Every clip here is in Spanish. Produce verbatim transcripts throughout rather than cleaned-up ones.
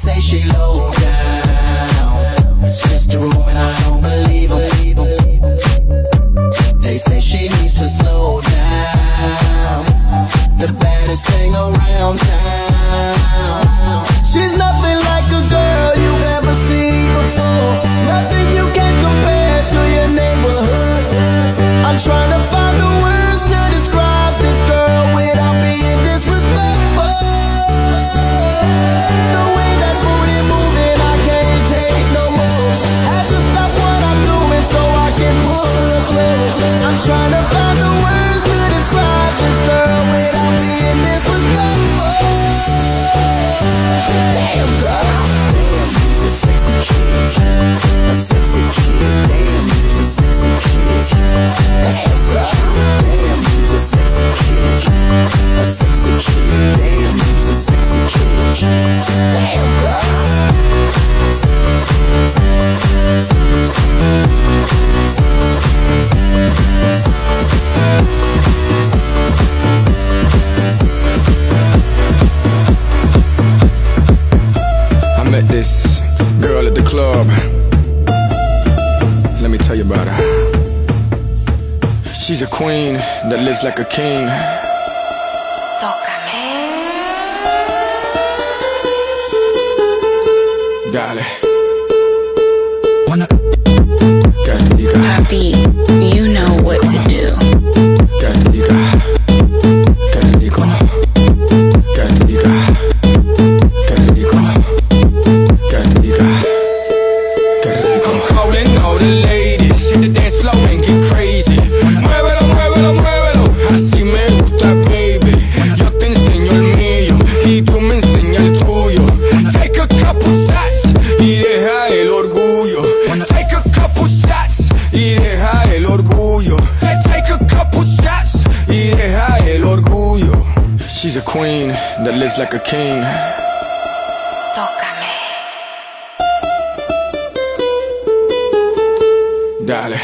say she low down. It's just a room and I don't believe them. They say she needs to slow down. The baddest thing around town. She's nothing like a girl you've ever seen before. Nothing you can compare to your neighborhood. I'm trying to find the words to describe this girl without being disrespectful. The way that booty moving, I can't take no more. Had to stop what I'm doing so I can pull her close. I'm trying to find the words to describe this girl without being disrespectful. Damn girl, damn, you's a sexy chick, a sexy chick. Damn, you's a sexy chick, a sexy chick. Damn, you's a sexy chick, a sexy chick. Damn, you's a sexy chick. Damn girl. I met this girl at the club. Let me tell you about her. She's a queen that lives like a king. Tócame. Dale. Papi, you know what to do. I'm calling all the ladies in the dance floor and get crazy. Muévelo, muévelo, muévelo. Así me gusta, baby. Yo te enseño el mío y tú me enseñas el tuyo. Take a couple shots y deja el orgullo. Take a couple shots y deja el orgullo. Take a couple shots y deja el orgullo. She's a queen that lives like a king. Tócame. Dale.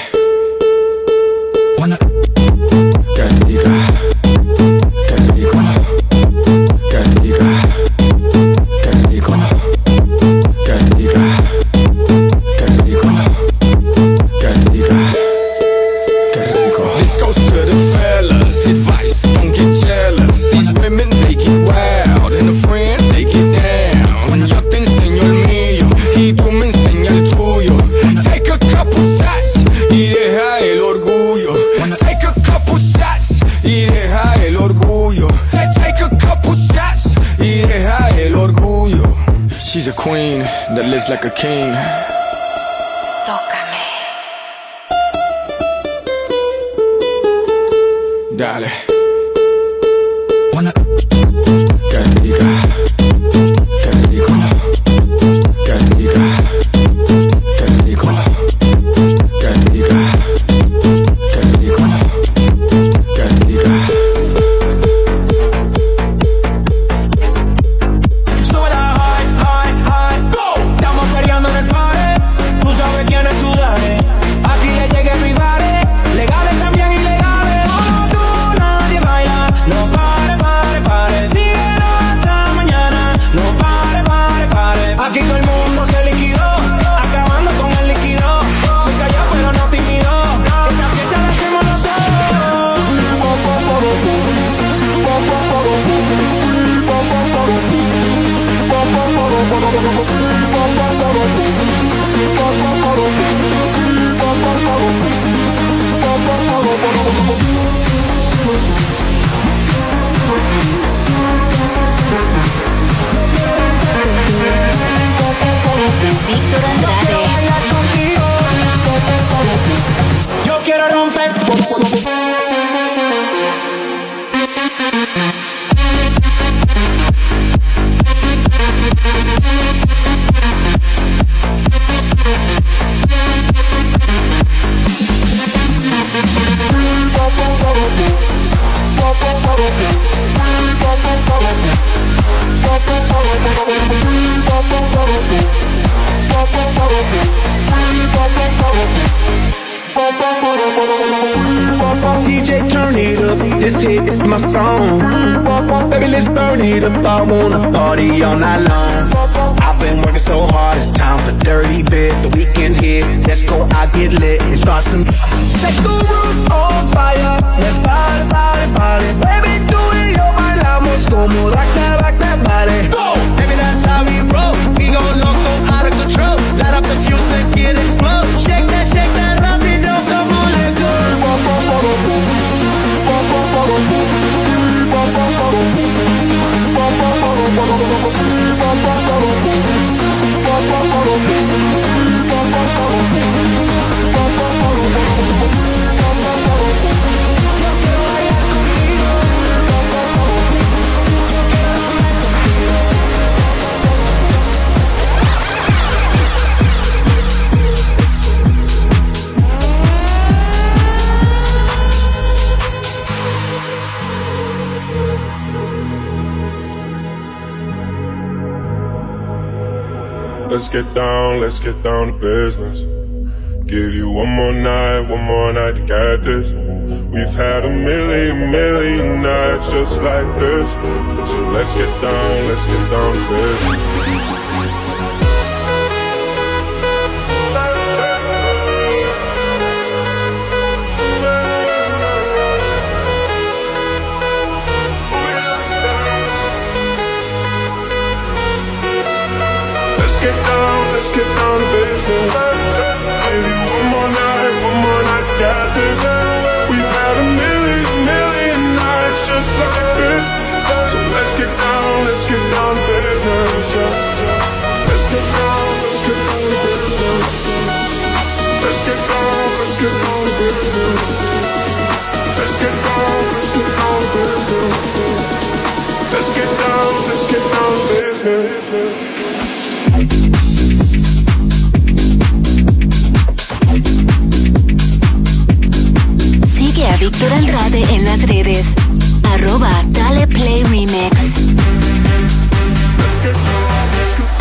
This goes to the fellas. Advice, don't get jealous. These women, they get wild, and the friends, they get down. Yo te enseño el mío y tú me enseñas el tuyo. Take a couple shots y deja el orgullo. Take a couple shots y deja el orgullo. Take a couple shots y deja el orgullo. She's a queen that lives like a king. Tócame. Dale. Víctor Andrade. Yo quiero romper. D J, turn it up, this hit is my song. Baby, let's burn it up, I wanna party all night long. I I've been working so hard, it's time for dirty bit. The weekend's here, let's go out, get lit and start some. Set the roof on fire, let's party, party, party. Baby, do it, yo, bailamos como rock that, rock that body. Go! Baby, that's how we roll. We gon' loco, out of control. Light up the fuse, make it explode. Shake that, shake that, rapido, come on, let go. Let's get down, let's get down to business. Give you one more night, one more night to get this. We've had a million, million nights just like this. So let's get down, let's get down to business. Let's get down, let's get down to business. Give you one more night, one more night to get this. We've had a million, million nights just like this. So let's get down, let's get down to business. Let's get down, let's get down to business. Let's get down, let's get down to business. Let's get down, let's get down to business. Let's get down, let's get down to business. Sigue a Víctor Andrade en las redes. Arroba Dale Play Remix. Let's get down, let's get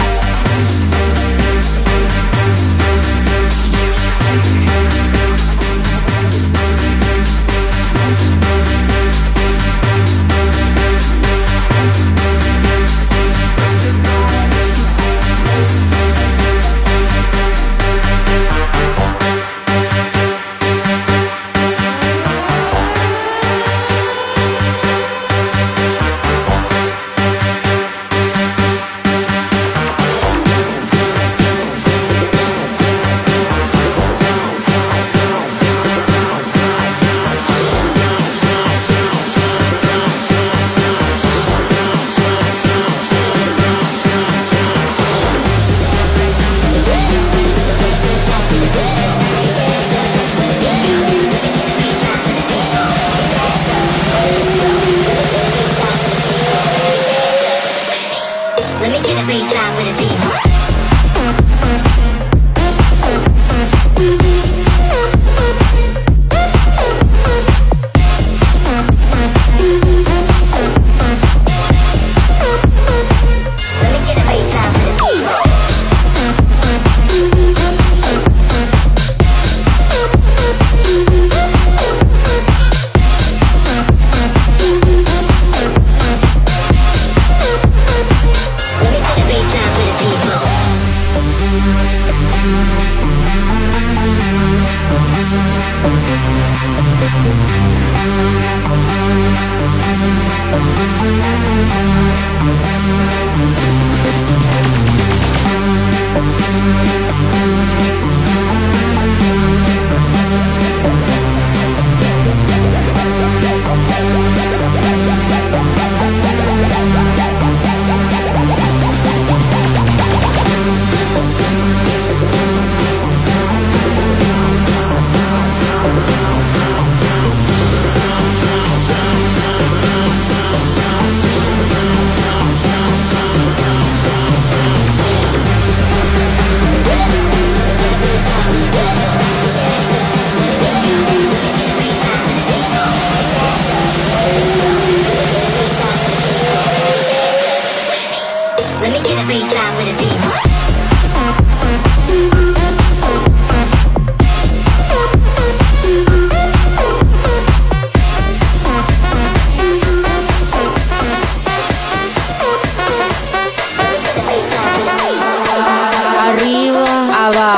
Baseline for the people.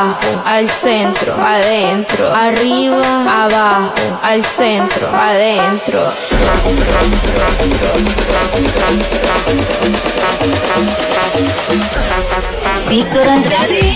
abajo, al centro, adentro, arriba, abajo, al centro, adentro. Víctor Andrade.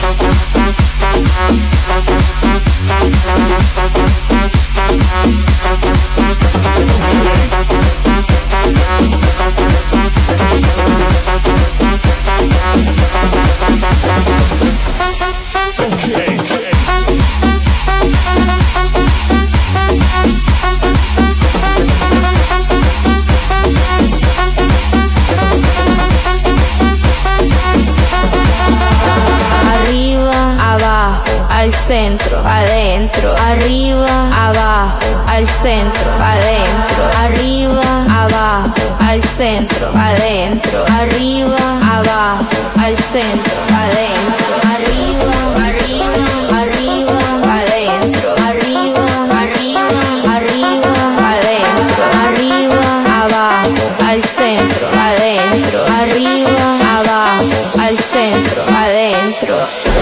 Al centro, adentro, arriba, abajo, al centro, adentro, arriba, abajo, al centro, adentro, arriba, abajo, al centro, adentro, arriba, arriba, arriba, adentro, arriba, arriba, arriba, adentro, arriba, abajo, al centro, adentro, arriba, abajo, al centro, adentro.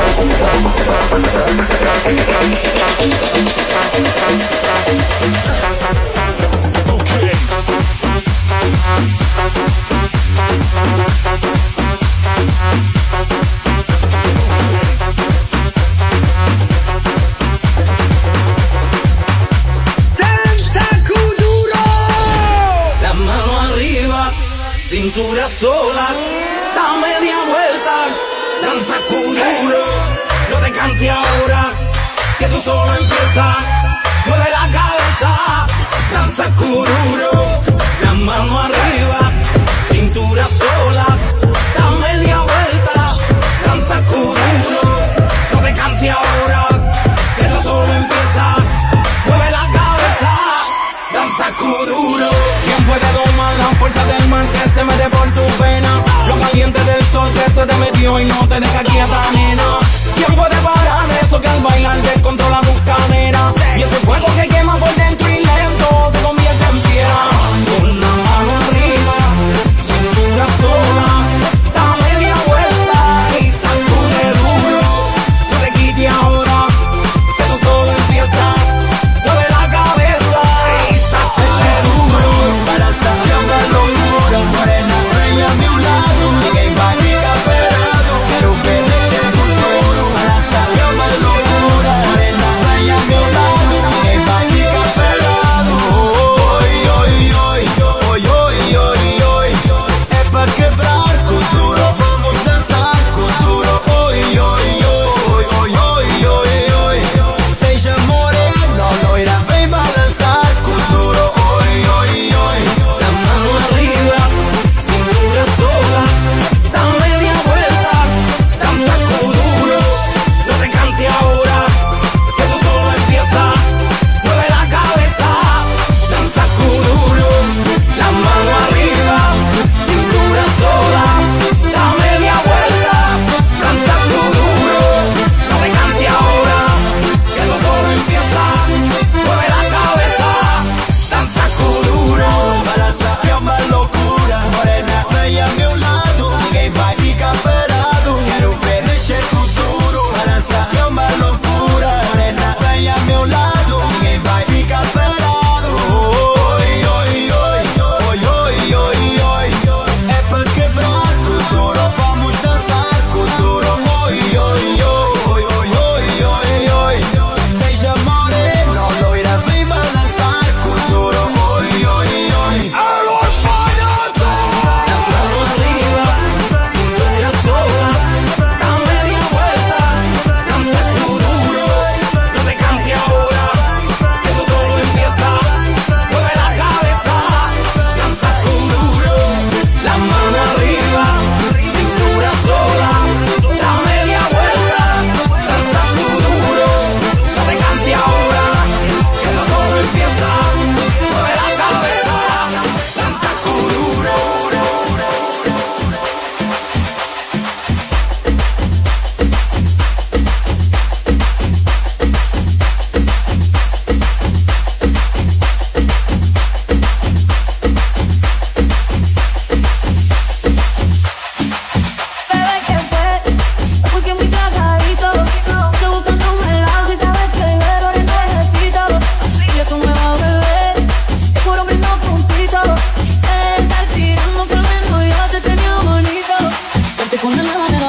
La mano arriba, cintura sola, da media vuelta, danza kuduro. No te canses ahora, que tú solo empiezas. Mueve la cabeza, danza kuduro. La mano arriba, cintura sola, da media vuelta, danza kuduro. No te canses ahora, que tú solo empiezas. Mueve la cabeza, danza kuduro. ¿Quién puede domar la fuerza del mar que se mete por tu pena? Lo caliente del sol que se te metió y no te deja quieta, nena. ¿Quién puede parar eso que al bailar descontrola tus caderas? Y ese fuego que quema por dentro y lento te convierte en piedra. Con la mano arriba, cintura sola, da media vuelta y sacude duro. No te quites ahora, que tú solo empiezas. Mueve la cabeza y sacude duro. Para sacar la locura, morena, reina a mi lado. Que va a esperado, quiero ver.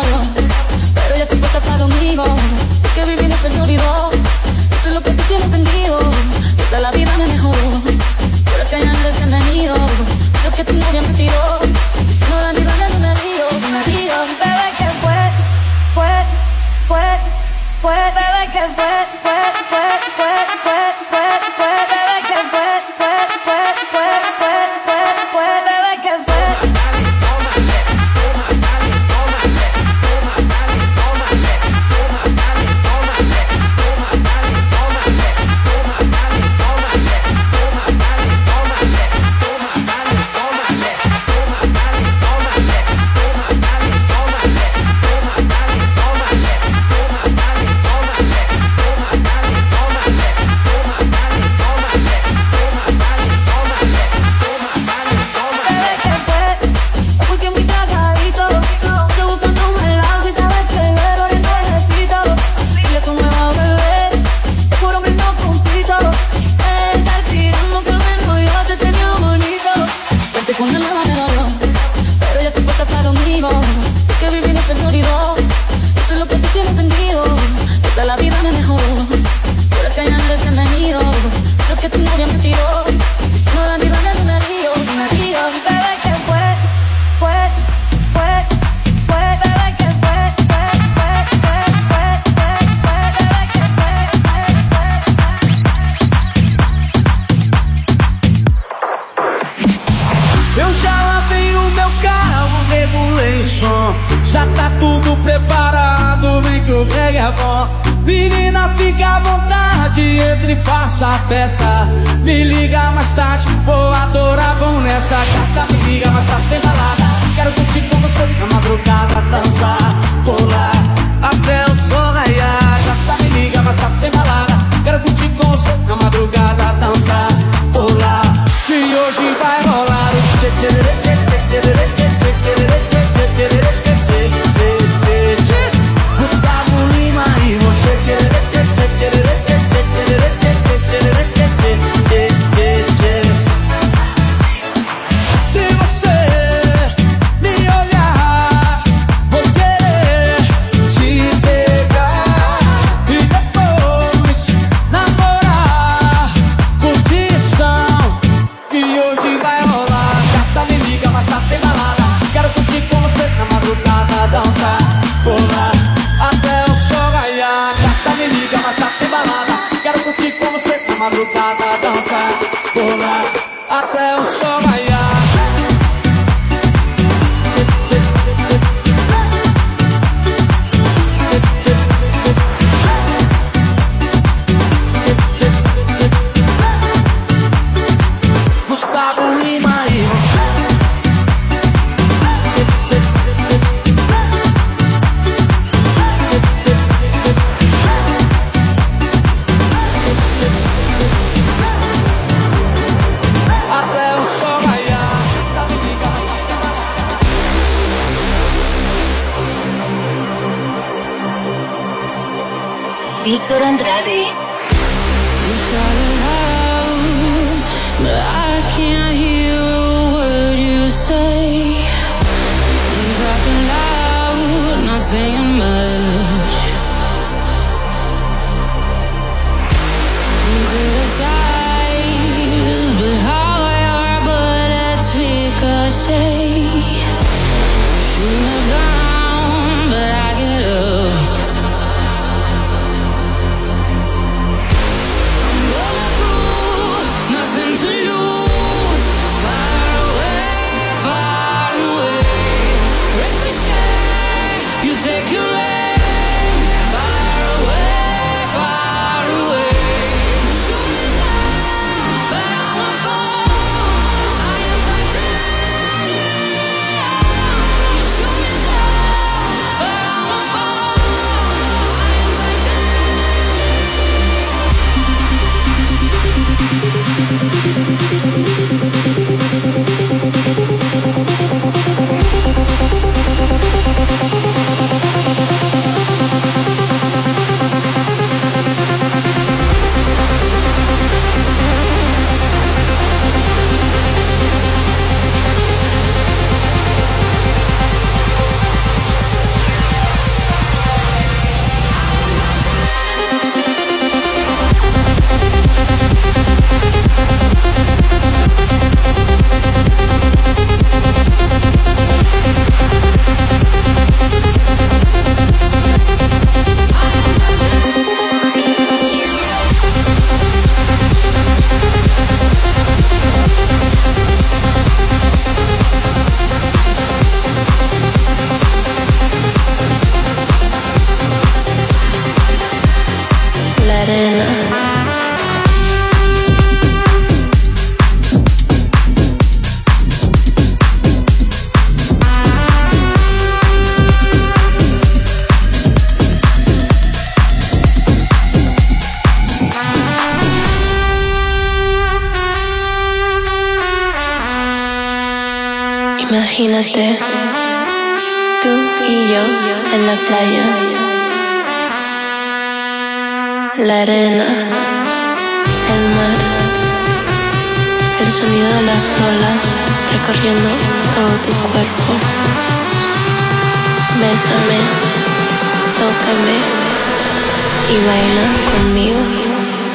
dolió, pero ella siempre está conmigo. Es que vivir no se me olvidó. Eso es lo que tú tienes entendido. Que toda la vida me mejoró. Pero que ya no eres bienvenido. Lo que tu novia me tiró. Y si no da ni vale, no me río, no me río. Bebé, que fue, fue, fue, fue, bebé, que fue, fue, fue, fue, fue, fue, fue, bebé, que fue, fue, fue, fue, fue, fue, fue, bebé, que fue. Já tá tudo preparado, vem que o brega é bom. Menina, fica à vontade, entre e faça a festa. Me liga mais tarde, vou adorar, vão nessa carta. Me liga mais tarde, tem balada. Quero curtir com você na madrugada, dançar, pular até o sol raiar. Já tá, me liga mais tarde, tem balada. Quero curtir com você na madrugada, dançar, pular. Que hoje vai rolar o tchê tchê tchê tchê tchê tchê tchê tchê tchê tchê. Gustavo Lima e você. Se você me olhar, vou querer te pegar e depois namorar. Curtição que hoje vai rolar. Gata, me liga, mas tá sem balada. Quero curtir com você na madrugada, dançar, pular até o sol raiar. Gata, me liga, mas tá sem balada. Quero curtir com você na madrugada, dançar, pular até o sol raiar. Gustavo Lima e você. Até o sol raiar. Víctor Andrade. You shout it out, but I can't hear a word you say. I'm talking loud, not saying much. I'm criticized, but how your bullets ricochet. Shoot me down, but I get up. Nothing to lose. Far away, far away. Ricochet, you take your aim. Far away, far away. Shoot me down, but I won't fall. I am titanium. You shoot me down, but I won't fall. I am titanium. Imagínate, tú y yo en la playa, la arena, el mar, el sonido de las olas recorriendo todo tu cuerpo. Bésame, tócame y baila conmigo.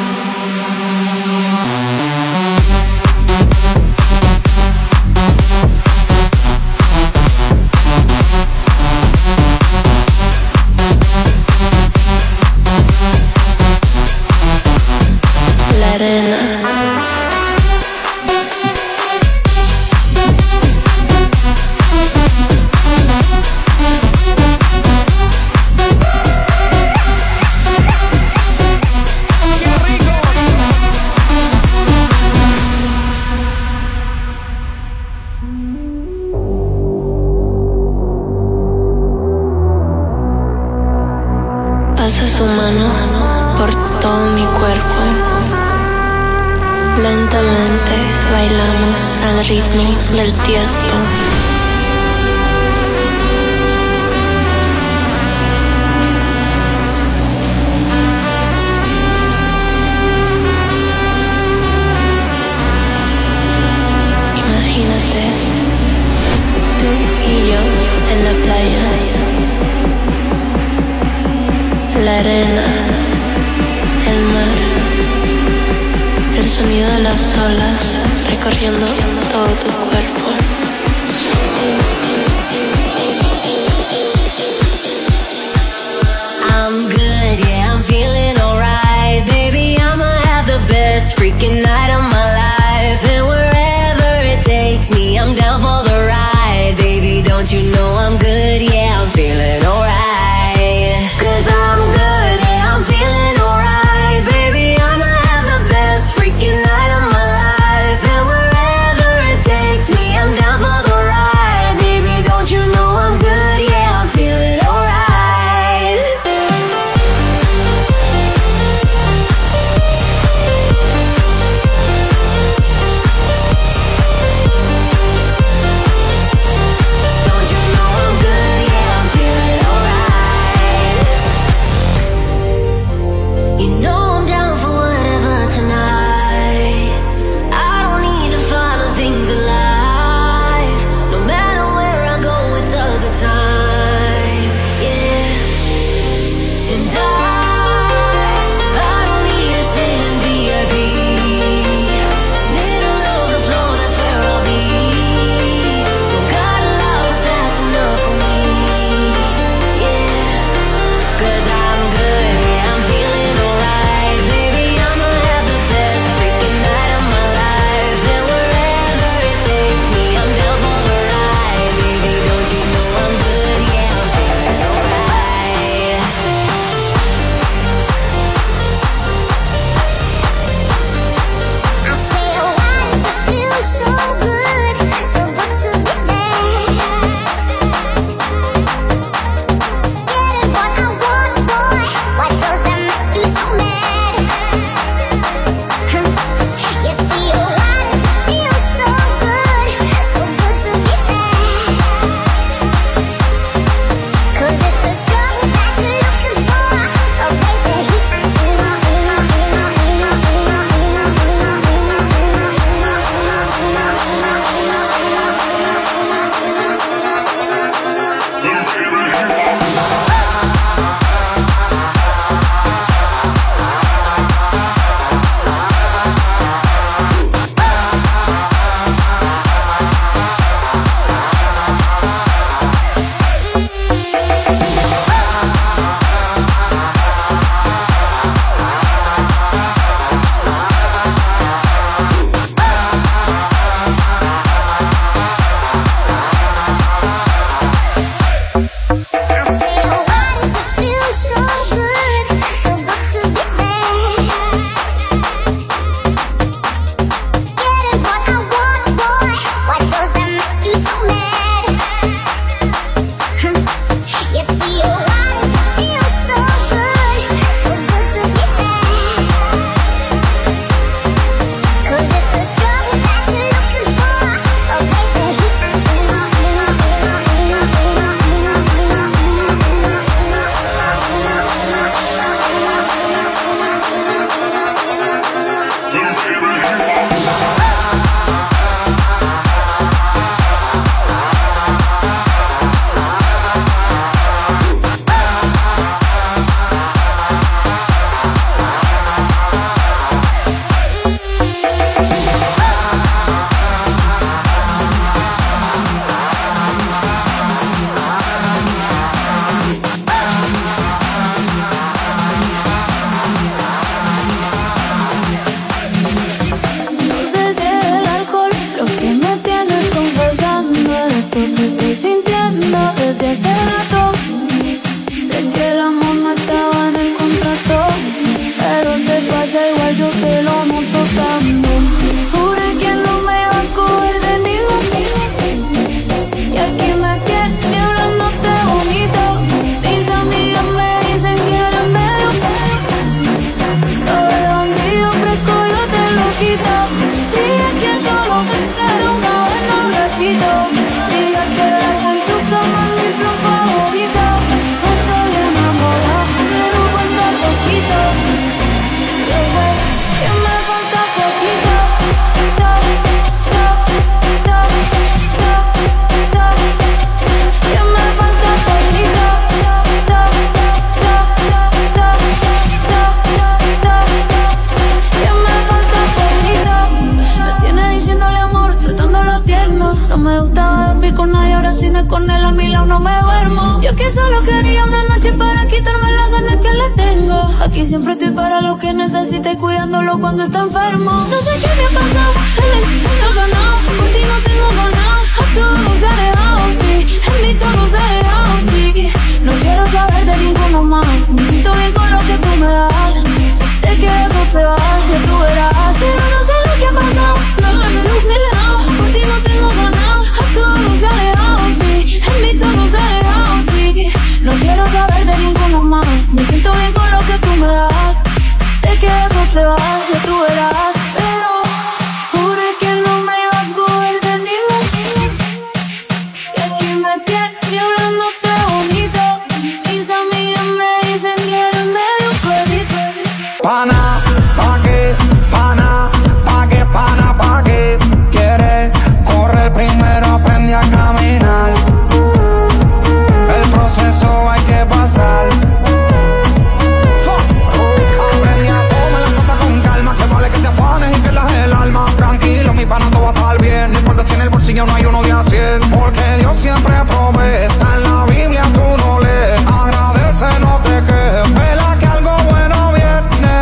Pasa su mano por todo mi cuerpo. Lentamente bailamos al ritmo del Tiesto. Imagínate, tú y yo en la playa, la arena, el mar, el sonido de las olas recorriendo todo tu cuerpo. I'm good, yeah, I'm feeling alright. Baby, I'ma have the best freaking night of my life. And wherever it takes me, I'm down for the ride. Baby, don't you know I'm good, yeah, I'm feeling alright. Cause I'm good, yeah, I'm feeling alright. Baby, I'ma have the best freaking night of my life. And wherever it takes me, I'm down for the ride. Baby, don't you know I'm good, yeah, I'm feeling alright. Don't you know I'm good, yeah, I'm feeling alright. día, una noche para quitarme las ganas que le tengo. Aquí siempre estoy para lo que necesite, cuidándolo cuando está enfermo. No sé qué me ha pasado, él no ganado. Por ti no tengo ganas, a todos nos ha dejado, sí. En mí todo nos ha dejado, sí. No quiero saber de ninguno más. Me siento bien con lo que tú me das. Te quedas o te vas, que tú verás. Pero no sé lo que ha pasado, las ganas de un helado. Por ti no tengo ganas, a todos nos ha dejado, sí. En mí todo nos ha dejado, sí. No quiero saber de ninguno más. Me siento bien con lo que tú me das. Te quedas o te vas, que tú verás. Pero juré que no me iba a coger de nivel. Que aquí me tiene hablándote bonito. Mis amigas me dicen que eres medio perrito. Pana, pa' qué, pana, pa' qué, pana, pa' qué. Quiere correr primero, aprende a caminar. El proceso hay que pasar. Aprende a comer las cosas con calma. Que vale que te afanes y que lajes el alma. Tranquilo, mi pana, todo va a estar bien. No importa si en el bolsillo no hay uno de a cien. Porque Dios siempre provee. Está en la Biblia, tú no lees. Agradece, no te quejes. Vela que algo bueno viene.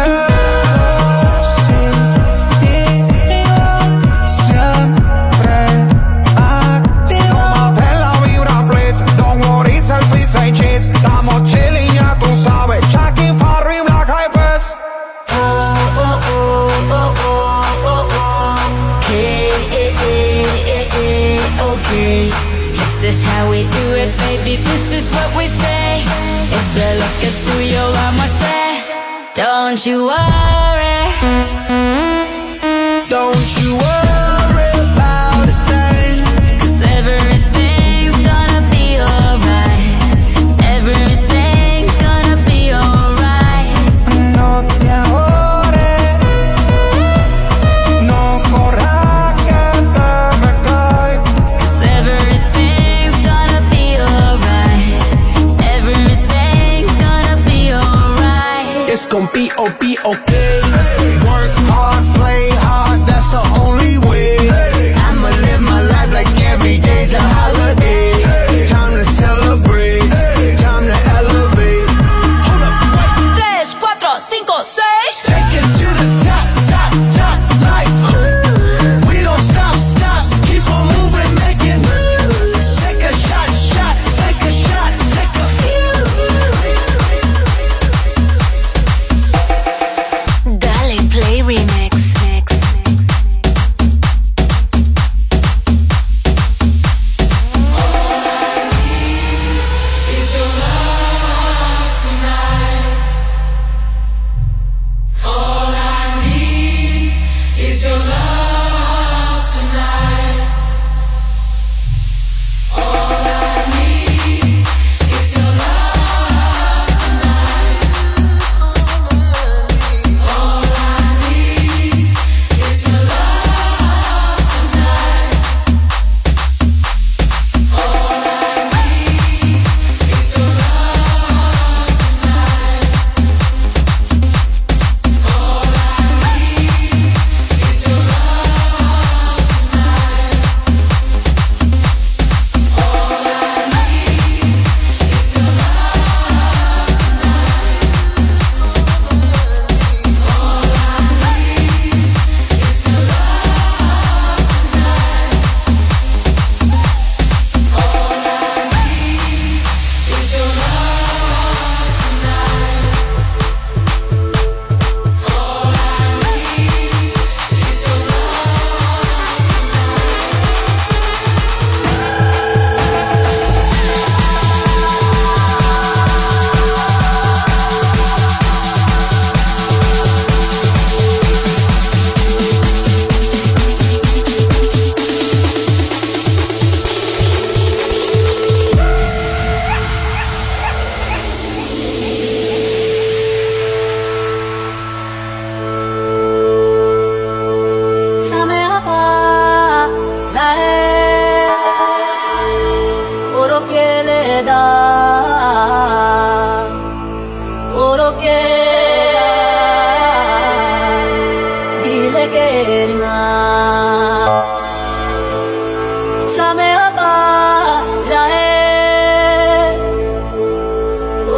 Estamos chilling, ya tú sabes. Chucky, Farry, Black Eyed Peas. Oh, oh, oh, oh, oh, oh, oh. Okay, eh, eh, eh, eh, okay. This is how we do it, baby. This is what we say. It's a look at through your armor, say. Don't you worry. Don't you worry about a thing. 'Cause everything's gonna be alright. Everything's gonna be alright. No te ahorres. No corras que te me cae. 'Cause everything's gonna be alright. Everything's gonna be alright. It's gon' be O P, okay. Work hard, play hard, that's the only way. I'ma live my life like every day's a holiday. Time to celebrate, time to elevate. Hold up, wait. Tres, cuatro, cinco, seis. Take it to the top, top, top, like ooh. We don't stop, stop, keep on moving, making moves. Take a shot, shot, take a shot, take a few.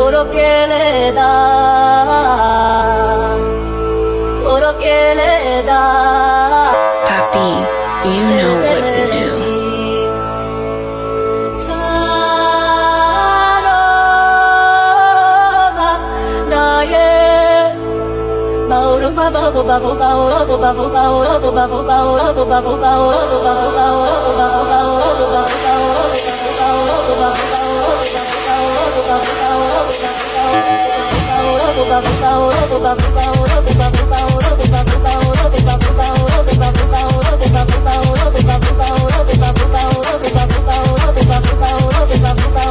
Oro que le da, oro que le da. Papi, you know what to do.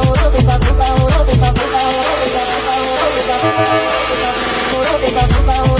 Bye.